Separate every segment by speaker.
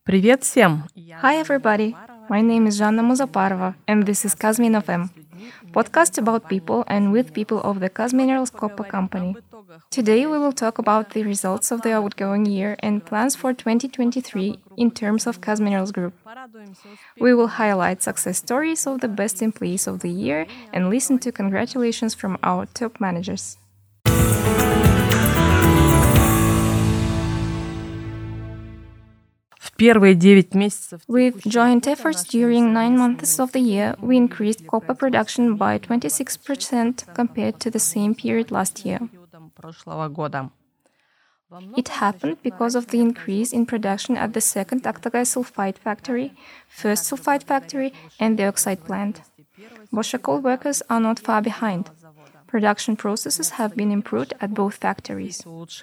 Speaker 1: Привет всем!
Speaker 2: Hi everybody, my name is Жанна Музапарова, and this is Kazmin FM, podcast about people and with people of the Kazminerals Copper Company. Today we will talk about the results of the outgoing year and plans for 2023 in terms of Kazminerals Group. We will highlight success stories of the best employees of the year and listen to congratulations from our top managers.
Speaker 1: With
Speaker 2: joint efforts during 9 months of the year, we increased copper production by 26% compared to the same period last year. It happened because of the increase in production at the second Aktogay sulfide factory, first sulfide factory, and the oxide plant. Boshakol workers are not far behind. Production processes have been improved at both factories.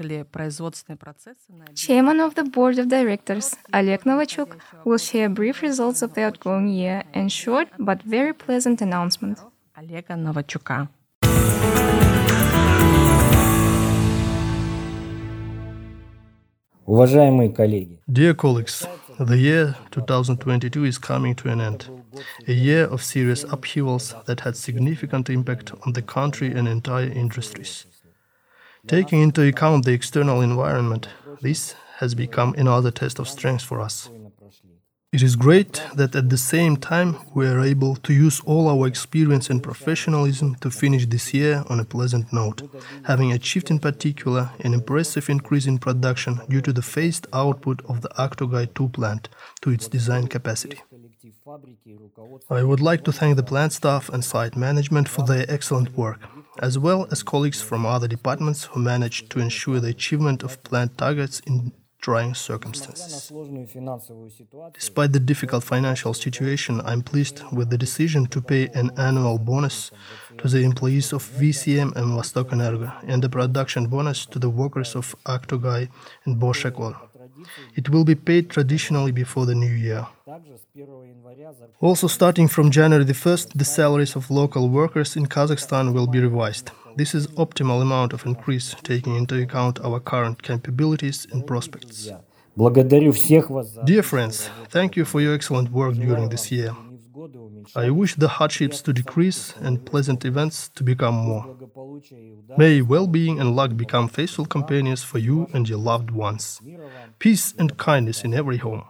Speaker 2: Chairman of the Board of Directors, Oleg Novachuk, will share brief results of the outgoing year and short but very pleasant announcement.
Speaker 1: Олега Новачука.
Speaker 3: Уважаемые коллеги,
Speaker 4: Dear colleagues, the year 2022 is coming to an end. A year of serious upheavals that had significant impact on the country and entire industries. Taking into account the external environment, this has become another test of strength for us. It is great that at the same time we are able to use all our experience and professionalism to finish this year on a pleasant note, having achieved in particular an impressive increase in production due to the phased output of the Aktogay 2 plant to its design capacity. I would like to thank the plant staff and site management for their excellent work, as well as colleagues from other departments who managed to ensure the achievement of plant targets in trying circumstances. Despite the difficult financial situation, I'm pleased with the decision to pay an annual bonus to the employees of VCM and Vostokenergo and a production bonus to the workers of Aktogay and Boshakol. It will be paid traditionally before the new year. Also, starting from January the 1st, the salaries of local workers in Kazakhstan will be revised. This is optimal amount of increase, taking into account our current capabilities and prospects. Dear friends, thank you for your excellent work during this year. I wish the hardships to decrease and pleasant events to become more. May well-being and luck become faithful companions for you and your loved ones. Peace and kindness in every home.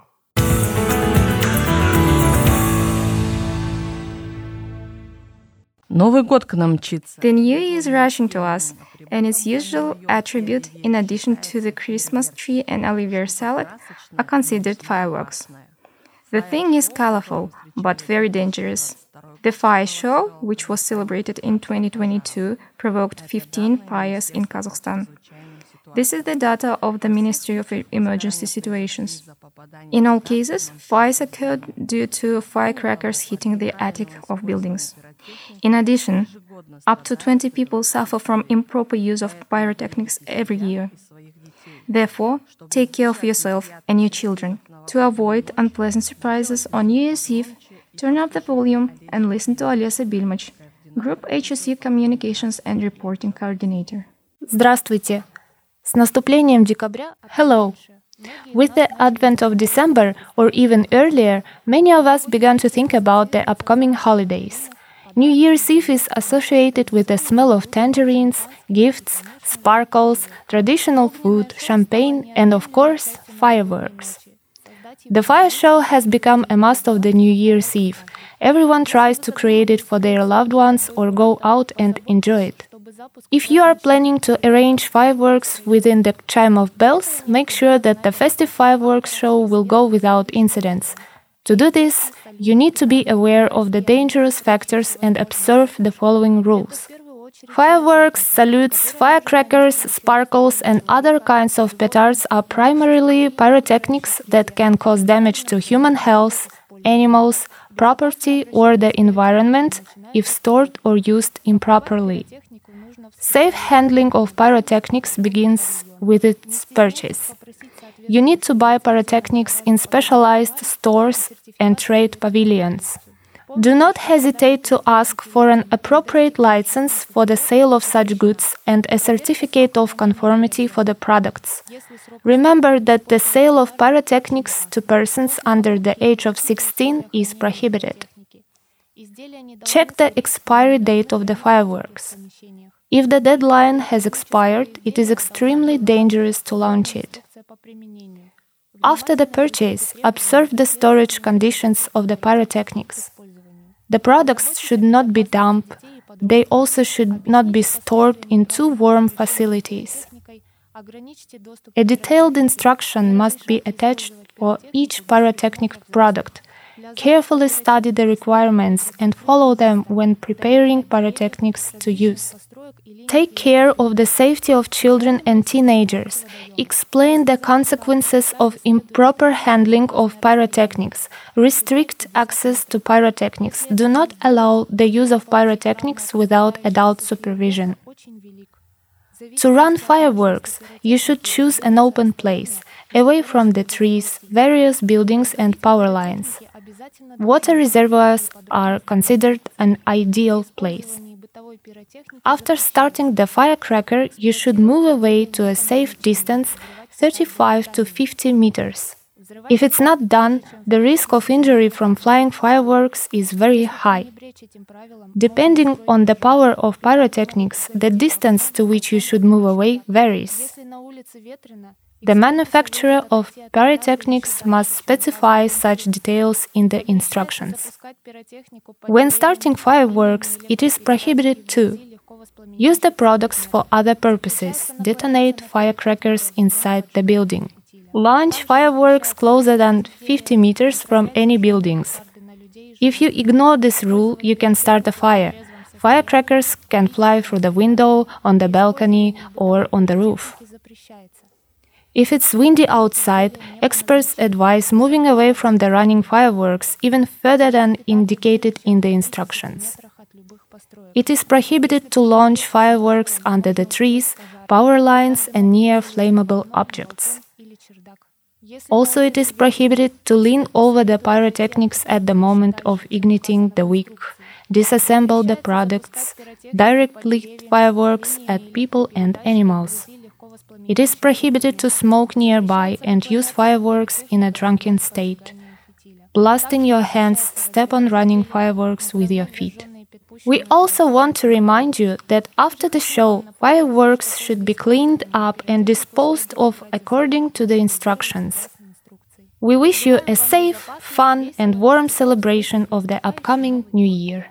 Speaker 1: Новый год к нам мчится.
Speaker 2: The new year is rushing to us, and its usual attribute, in addition to the Christmas tree and Olivier salad, are considered fireworks. The thing is colorful, but very dangerous. The fire show, which was celebrated in 2022, provoked 15 fires in Kazakhstan. This is the data of the Ministry of Emergency Situations. In all cases, fires occurred due to firecrackers hitting the attic of buildings. In addition, up to 20 people suffer from improper use of pyrotechnics every year. Therefore, take care of yourself and your children. To avoid unpleasant surprises on New Year's Eve, turn up the volume and listen to Olesa Bilmach, Group HSE Communications and Reporting Coordinator.
Speaker 5: Здравствуйте! С наступлением декабря. Hello! With the advent of December, or even earlier, many of us began to think about the upcoming holidays. New Year's Eve is associated with the smell of tangerines, gifts, sparkles, traditional food, champagne, and of course, fireworks. The fire show has become a must of the New Year's Eve. Everyone tries to create it for their loved ones or go out and enjoy it. If you are planning to arrange fireworks within the chime of bells, make sure that the festive fireworks show will go without incidents. To do this, you need to be aware of the dangerous factors and observe the following rules. Fireworks, salutes, firecrackers, sparkles, and other kinds of petards are primarily pyrotechnics that can cause damage to human health, animals, property, or the environment if stored or used improperly. Safe handling of pyrotechnics begins with its purchase. You need to buy pyrotechnics in specialized stores and trade pavilions. Do not hesitate to ask for an appropriate license for the sale of such goods and a certificate of conformity for the products. Remember that the sale of pyrotechnics to persons under the age of 16 is prohibited. Check the expiry date of the fireworks. If the deadline has expired, it is extremely dangerous to launch it. After the purchase, observe the storage conditions of the pyrotechnics. The products should not be damp. They also should not be stored in too warm facilities. A detailed instruction must be attached for each pyrotechnic product. Carefully study the requirements and follow them when preparing pyrotechnics to use. Take care of the safety of children and teenagers. Explain the consequences of improper handling of pyrotechnics. Restrict access to pyrotechnics. Do not allow the use of pyrotechnics without adult supervision. To run fireworks, you should choose an open place, away from the trees, various buildings and power lines. Water reservoirs are considered an ideal place. After starting the firecracker, you should move away to a safe distance, 35 to 50 meters. If it's not done, the risk of injury from flying fireworks is very high. Depending on the power of pyrotechnics, the distance to which you should move away varies. The manufacturer of pyrotechnics must specify such details in the instructions. When starting fireworks, it is prohibited to use the products for other purposes, detonate firecrackers inside the building, launch fireworks closer than 50 meters from any buildings. If you ignore this rule, you can start a fire. Firecrackers can fly through the window, on the balcony, or on the roof. If it's windy outside, experts advise moving away from the running fireworks even further than indicated in the instructions. It is prohibited to launch fireworks under the trees, power lines, and near flammable objects. Also, it is prohibited to lean over the pyrotechnics at the moment of igniting the wick, disassemble the products, directly fireworks at people and animals. It is prohibited to smoke nearby and use fireworks in a drunken state. Blast in your hands, step on running fireworks with your feet. We also want to remind you that after the show, fireworks should be cleaned up and disposed of according to the instructions. We wish you a safe, fun, and warm celebration of the upcoming New Year.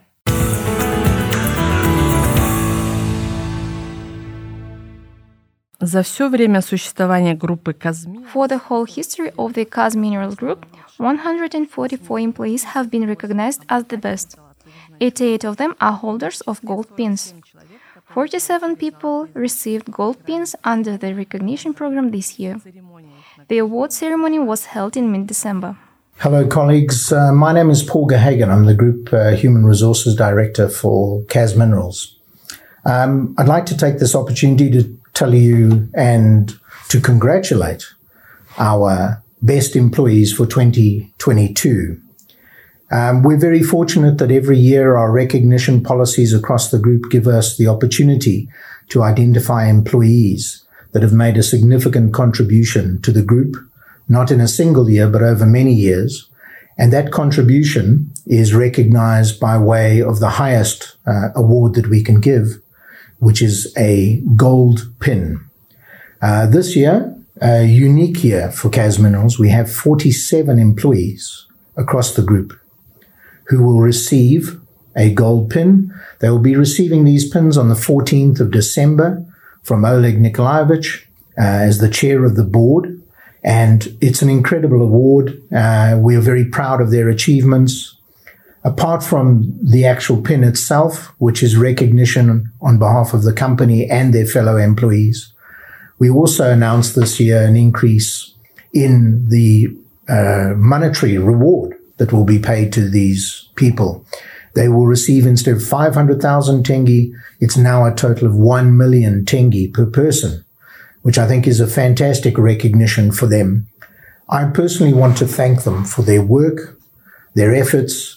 Speaker 1: За все время существования группы Kazmi
Speaker 2: For the whole history of the Kaz Minerals Group, 144 employees have been recognized as the best. 88 of them are holders of gold pins. 47 people received gold pins under the recognition program this year. The award ceremony was held in mid-December.
Speaker 3: Hello, colleagues. My name is Paul Gahagan. I'm the Group Human Resources Director for Kaz Minerals. I'd like to take this opportunity to tell you and to congratulate our best employees for 2022. We're very fortunate that every year our recognition policies across the group give us the opportunity to identify employees that have made a significant contribution to the group, not in a single year, but over many years. And that contribution is recognized by way of the highest award that we can give, which is a gold pin. This year, a unique year for Kaz Minerals, we have 47 employees across the group who will receive a gold pin. They will be receiving these pins on the 14th of December from Oleg Nikolaevich as the chair of the board. And it's an incredible award. We are very proud of their achievements. Apart from the actual pin itself, which is recognition on behalf of the company and their fellow employees, we also announced this year an increase in the monetary reward that will be paid to these people. They will receive, instead of 500,000 tenge, it's now a total of 1 million tenge per person, which I think is a fantastic recognition for them. I personally want to thank them for their work, their efforts,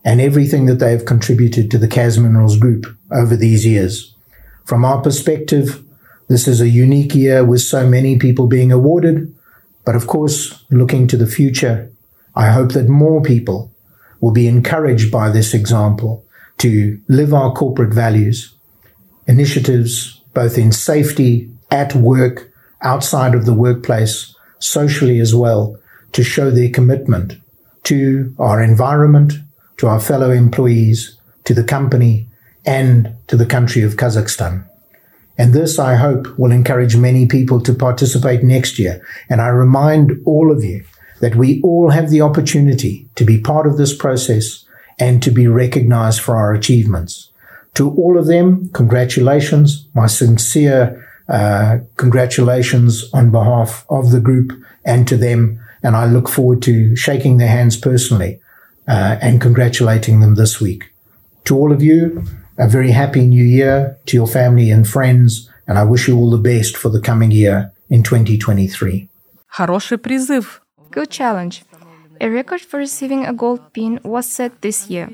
Speaker 3: and everything that they have contributed to the Kaz Minerals Group over these years. From our perspective, this is a unique year with so many people being awarded, but of course, looking to the future, I hope that more people will be encouraged by this example to live our corporate values, initiatives both in safety, at work, outside of the workplace, socially as well, to show their commitment to our environment, to our fellow employees, to the company, and to the country of Kazakhstan. And this, I hope, will encourage many people to participate next year. And I remind all of you that we all have the opportunity to be part of this process and to be recognized for our achievements. To all of them, congratulations, my sincere congratulations on behalf of the group and to them. And I look forward to shaking their hands personally and congratulating them this week. To all of you, a very happy new year, to your family and friends, and I wish you all the best for the coming year in 2023.
Speaker 1: Хороший призыв.
Speaker 2: Good challenge. A record for receiving a gold pin was set this year.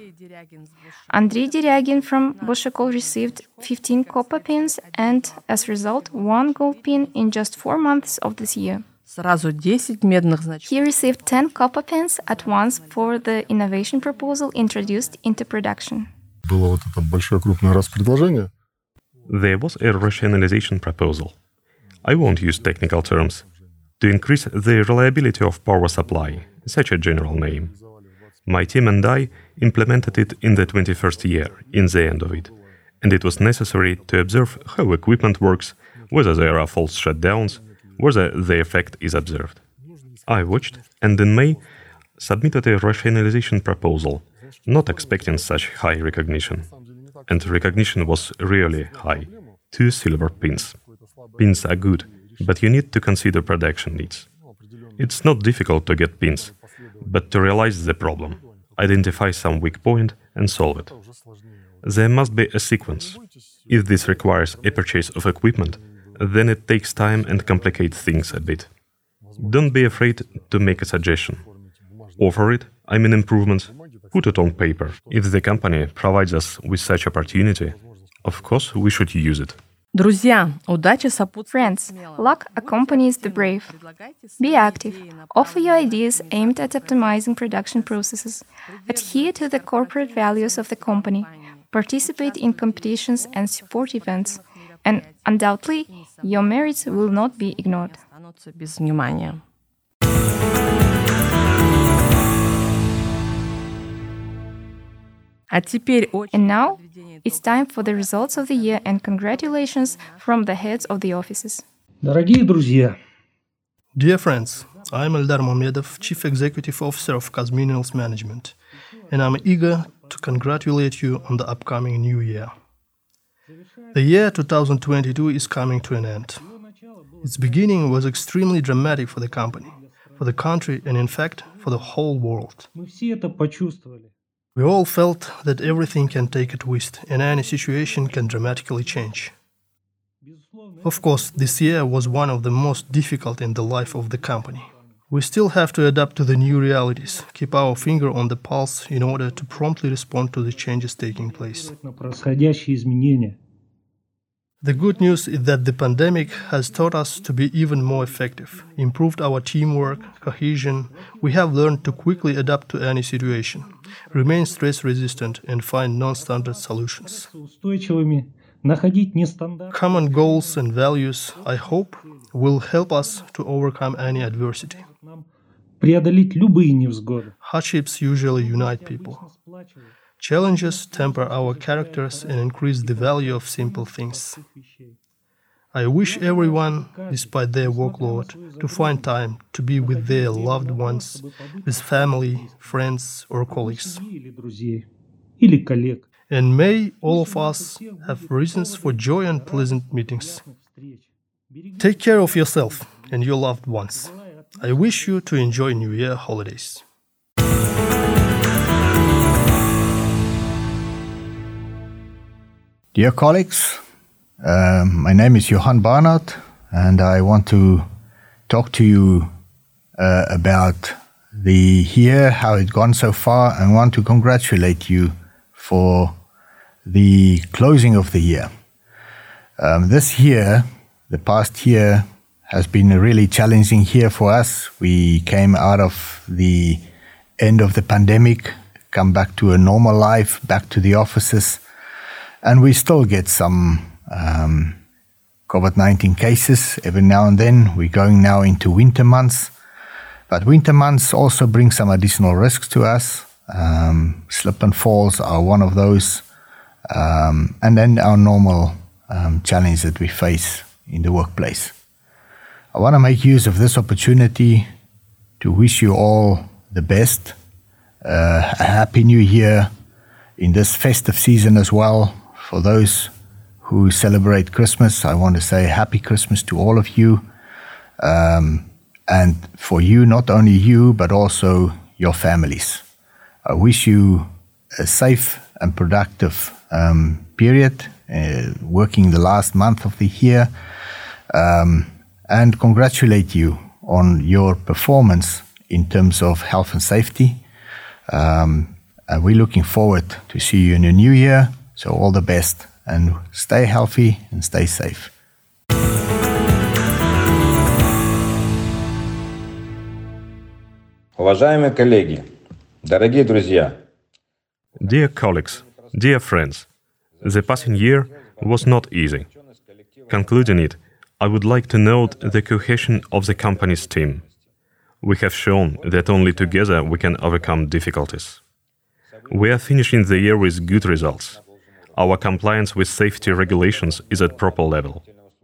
Speaker 2: Andrei Deryagin from Boshekol received 15 copper pins and, as a result, 1 gold pin in just 4 months of this year.
Speaker 1: Сразу 10 медных значков.
Speaker 2: He received 10 copper pins at once for the innovation proposal introduced into production.
Speaker 6: Было вот это большое крупное распредложение.
Speaker 7: There was a rationalization proposal. I won't use technical terms. To increase the reliability of power supply, such a general name. My team and I implemented it in the 21st year, in the end of it. And it was necessary to observe how equipment works, whether there are false shutdowns, whether the effect is observed. I watched, and in May, submitted a rationalization proposal, not expecting such high recognition. And recognition was really high. 2 silver pins. Pins are good, but you need to consider production needs. It's not difficult to get pins, but to realize the problem, identify some weak point and solve it. There must be a sequence. If this requires a purchase of equipment, then it takes time and complicates things a bit. Don't be afraid to make a suggestion. Offer it, improvements, put it on paper. If the company provides us with such opportunity, of course we should use it.
Speaker 1: Друзья, удача сопутствует.
Speaker 2: Friends, luck accompanies the brave. Be active. Offer your ideas aimed at optimizing production processes. Adhere to the corporate values of the company. Participate in competitions and support events. And undoubtedly, your merits will not be ignored.
Speaker 1: Останутся без внимания. А теперь
Speaker 2: And now, it's time for the results of the year and congratulations from the heads of the offices.
Speaker 8: Дорогие друзья,
Speaker 4: Dear friends, I'm Eldar Mamedov, Chief Executive Officer of Kaz Minerals Management, and I'm eager to congratulate you on the upcoming new year. The year 2022 is coming to an end. Its beginning was extremely dramatic for the company, for the country, and in fact, for the whole world.
Speaker 8: мы все это почувствовали.
Speaker 4: We all felt that everything can take a twist and any situation can dramatically change. Of course, this year was one of the most difficult in the life of the company. We still have to adapt to the new realities, keep our finger on the pulse in order to promptly respond to the changes taking place.
Speaker 8: На происходящие изменения.
Speaker 4: The good news is that the pandemic has taught us to be even more effective, improved our teamwork, cohesion. We have learned to quickly adapt to any situation, remain stress-resistant, and find non-standard solutions.
Speaker 8: Устойчивыми, находить нестандартные.
Speaker 4: Common goals and values, I hope, will help us to overcome any adversity.
Speaker 8: Преодолеть любые невзгоды.
Speaker 4: Hardships usually unite people. Challenges temper our characters and increase the value of simple things. I wish everyone, despite their workload, to find time to be with their loved ones, with family, friends, or colleagues.
Speaker 8: Или друзей, или коллег.
Speaker 4: And may all of us have reasons for joy and pleasant meetings. Take care of yourself and your loved ones. I wish you to enjoy New Year holidays.
Speaker 9: Dear colleagues, my name is Johan Barnard, and I want to talk to you about the year, how it gone so far, and want to congratulate you for the closing of the year. This year, the past year, has been a really challenging year for us. We came out of the end of the pandemic, come back to a normal life, back to the offices, and we still get some COVID-19 cases every now and then. We're going now into winter months, but winter months also bring some additional risks to us. Slip and falls are one of those, and then our normal challenge that we face in the workplace. I want to make use of this opportunity to wish you all the best, a happy new year in this festive season as well. For those who celebrate Christmas, I want to say happy Christmas to all of you. And for you, not only you, but also your families. I wish you a safe and productive period, working the last month of the year. And congratulate you on your performance in terms of health and safety. And we're looking forward to see you in the new year. So all the best, and stay healthy and stay safe.
Speaker 10: Уважаемые коллеги, дорогие друзья.
Speaker 7: Dear colleagues, dear friends, the passing year was not easy. Concluding it, I would like to note the cohesion of the company's team. We have shown that only together we can overcome difficulties. We are finishing the year with good results. Our compliance with safety regulations is at proper level.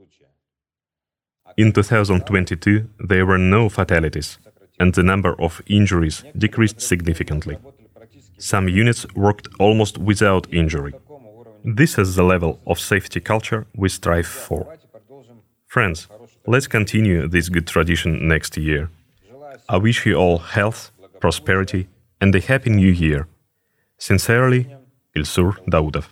Speaker 7: In 2022, there were no fatalities, and the number of injuries decreased significantly. Some units worked almost without injury. This is the level of safety culture we strive for. Friends, let's continue this good tradition next year. I wish you all health, prosperity, and a happy new year. Sincerely, Ilsur Daudov.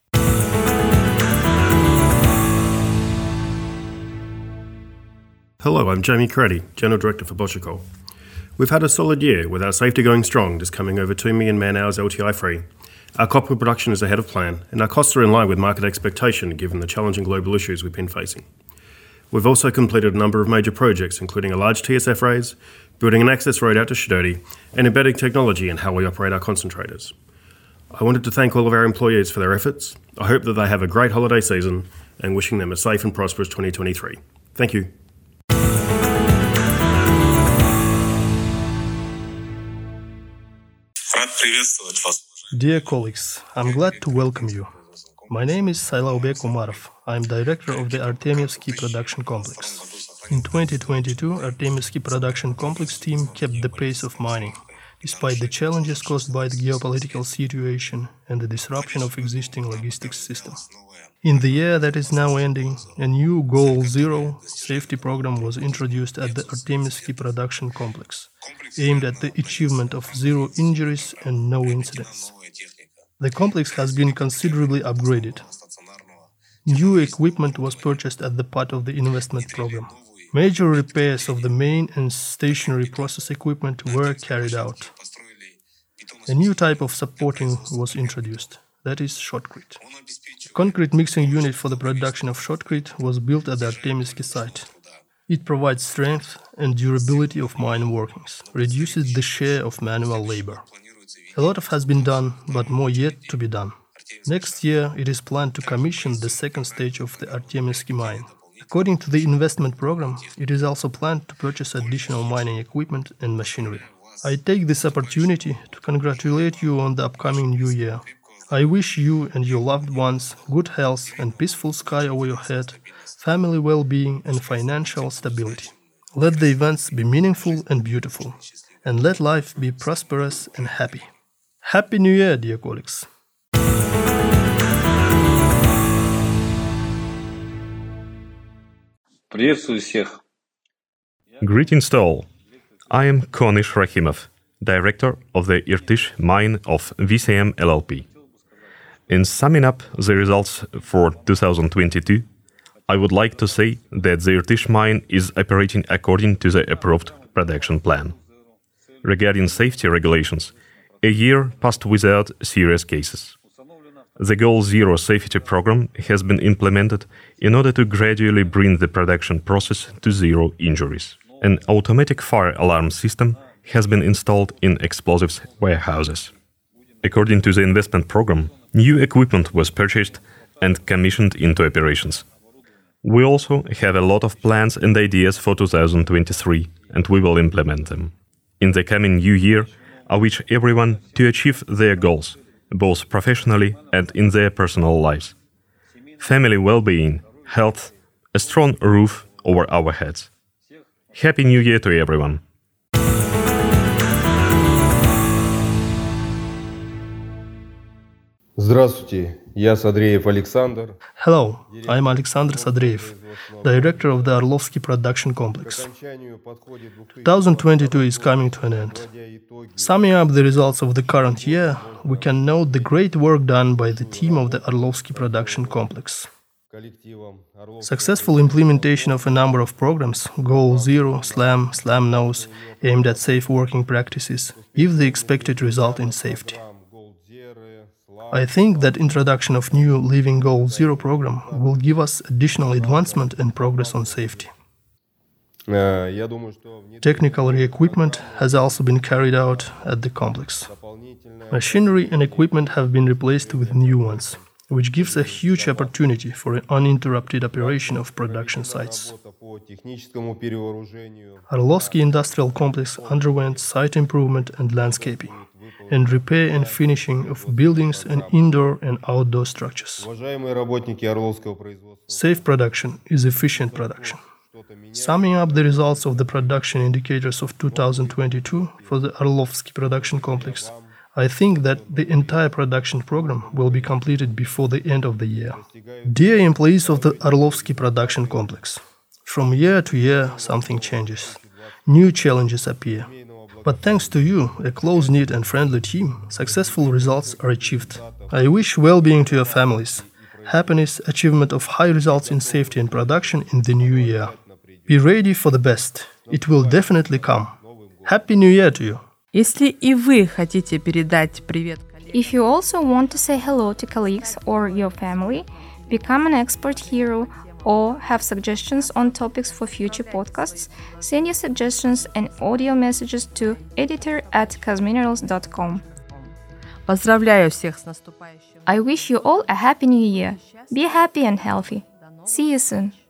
Speaker 11: Hello, I'm Jamie Craddy, General Director for Boschikol. We've had a solid year with our safety going strong, just coming over 2 million man-hours LTI free. Our copper production is ahead of plan, and our costs are in line with market expectation given the challenging global issues we've been facing. We've also completed a number of major projects, including a large TSF raise, building an access road out to Shidodi, and embedding technology in how we operate our concentrators. I wanted to thank all of our employees for their efforts. I hope that they have a great holiday season, and wishing them a safe and prosperous 2023. Thank you.
Speaker 4: Dear colleagues, I'm glad to welcome you. My name is Sailaubek Umarov. I'm director of the Artemyevsky Production Complex. In 2022, Artemyevsky Production Complex team kept the pace of mining, despite the challenges caused by the geopolitical situation and the disruption of existing logistics system. In the year that is now ending, a new Goal Zero safety program was introduced at the Artemyevsky Production Complex, aimed at the achievement of zero injuries and no incidents. The complex has been considerably upgraded. New equipment was purchased as the part of the investment program. Major repairs of the main and stationary process equipment were carried out. A new type of supporting was introduced, that is shotcrete. A concrete mixing unit for the production of shotcrete was built at the Artemyevsky site. It provides strength and durability of mine workings, reduces the share of manual labor. A lot has been done, but more yet to be done. Next year, it is planned to commission the second stage of the Artemyevsky mine. According to the investment program, it is also planned to purchase additional mining equipment and machinery. I take this opportunity to congratulate you on the upcoming new year. I wish you and your loved ones good health and peaceful sky over your head, family well-being and financial stability. Let the events be meaningful and beautiful, and let life be prosperous and happy. Happy New Year, dear colleagues!
Speaker 7: Greetings to all. I am Konish Rahimov, director of the Irtysh mine of VCM LLP. In summing up the results for 2022, I would like to say that the Irtysh mine is operating according to the approved production plan. Regarding safety regulations, a year passed without serious cases. The Goal Zero safety program has been implemented in order to gradually bring the production process to zero injuries. An automatic fire alarm system has been installed in explosives warehouses. According to the investment program, new equipment was purchased and commissioned into operations. We also have a lot of plans and ideas for 2023, and we will implement them. In the coming new year, I wish everyone to achieve their goals, both professionally and in their personal lives. Family well-being, health, a strong roof over our heads. Happy New Year to everyone!
Speaker 12: Здравствуйте, я Sadreev Alexander.
Speaker 4: Hello, I'm Alexander Sadreev, director of the Orlovsky Production Complex. 2022 is coming to an end. Summing up the results of the current year, we can note the great work done by the team of the Orlovsky Production Complex. Successful implementation of a number of programs, Goal Zero, SLAM, SLAM Nose, aimed at safe working practices, give the expected result in safety. I think that introduction of new Living Goal Zero program will give us additional advancement and progress on safety. Technical re-equipment has also been carried out at the complex. Machinery and equipment have been replaced with new ones, which gives a huge opportunity for an uninterrupted operation of production sites. Orlovsky Industrial Complex underwent site improvement and landscaping, and repair and finishing of buildings and indoor and outdoor structures. Safe production is efficient production. Summing up the results of the production indicators of 2022 for the Orlovsky Production Complex, I think that the entire production program will be completed before the end of the year. Dear employees of the Orlovsky Production Complex, from year to year something changes. New challenges appear. But thanks to you, a close-knit and friendly team, successful results are achieved. I wish well-being to your families, happiness, achievement of high results in safety and production in the new year. Be ready for the best. It will definitely come. Happy New Year to you!
Speaker 1: Если и вы хотите передать привет коллегам,
Speaker 2: If you also want to say hello to colleagues or your family, become an expert hero, or have suggestions on topics for future podcasts, send your suggestions and audio messages to editor@kazminerals.com.
Speaker 1: поздравляю всех с наступающим.
Speaker 2: I wish you all a happy new year. Be happy and healthy. See you soon.